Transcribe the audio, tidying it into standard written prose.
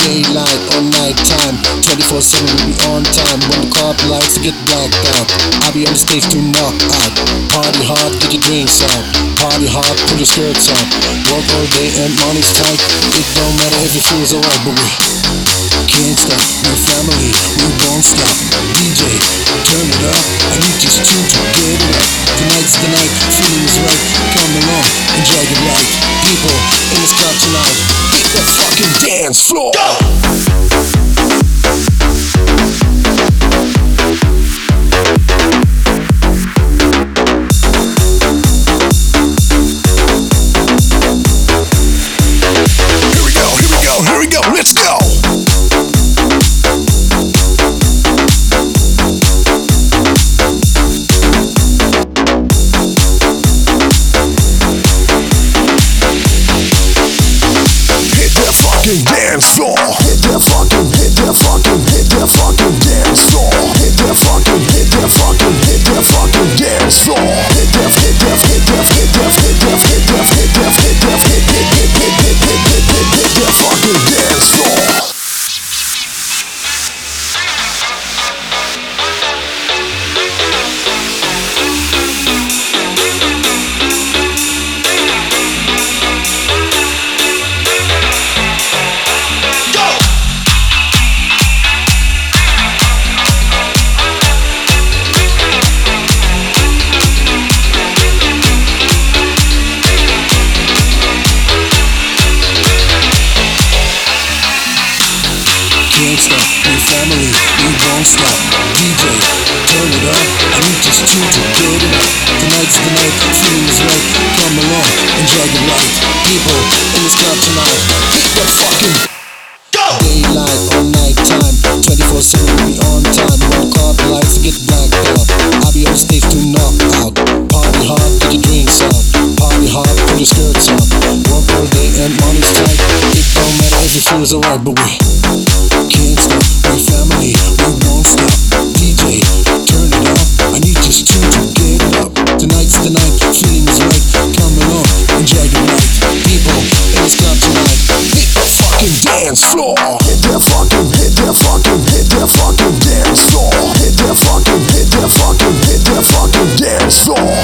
Daylight or nighttime, 24/7 we'll be on time. When the car lights get blacked out, I'll be on the stage to knock out. Party hard, get your drinks out. Party hard, put your skirts on. Work all day and money's tight. It don't matter if it feels alright, but we can't stop. We're family, we won't stop. DJ, turn it up. I need just two to get it up. Tonight's the night, feeling is right. Come along, enjoy the light. People in this club tonight, hit the fucking dance floor. Go! Here we go, let's go! Hit that fucking dance floor! Hit that fucking dance floor! Hit that fucking dance floor! Hit that fucking dance floor! Hit that fucking dance floor! Can't stop, we're family, we won't stop. DJ, turn it up, I need just two to get it up. Tonight's the night, feeling is right. Come along, enjoy the light. People in this club tonight, hit the fucking go! Daylight or nighttime, 24/7 we'll be on time. When the car lights get blacked out, I'll be on stage to knock out. Party hard, get your drinks out. Party hard, put your skirts on. Work all day and money's tight. It don't matter if it feels alright, but we can't stop, we're family, we won't stop. DJ, turn it up, I need just two to get it up. Tonight's the night, feeling is right. Come along, enjoy the night. People in this club tonight, hit the fucking dance floor. Hit that fucking dance floor. Hit that fucking dance floor.